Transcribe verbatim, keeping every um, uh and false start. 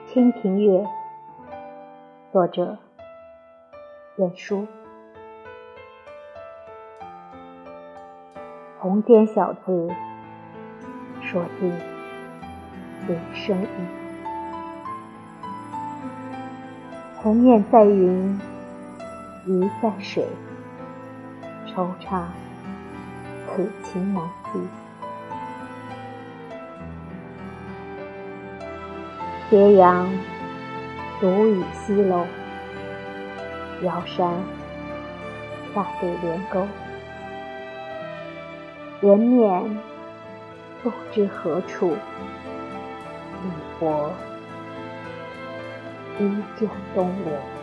清平乐》，作者晏殊。红笺小字，说尽人生意。鸿雁在云，鱼在水，惆怅此情难寄。斜阳独倚西楼，遥山恰对连沟。人面不知何处，一泊依旧东流。